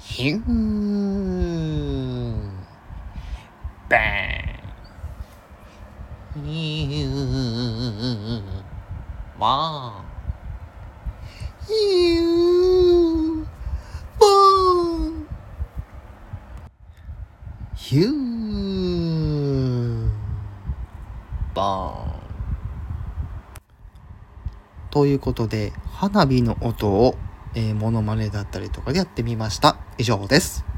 ヒューバーンヒューワンヒューボーンヒューボーンということで花火の音をモノマネだったりとかでやってみました。以上です。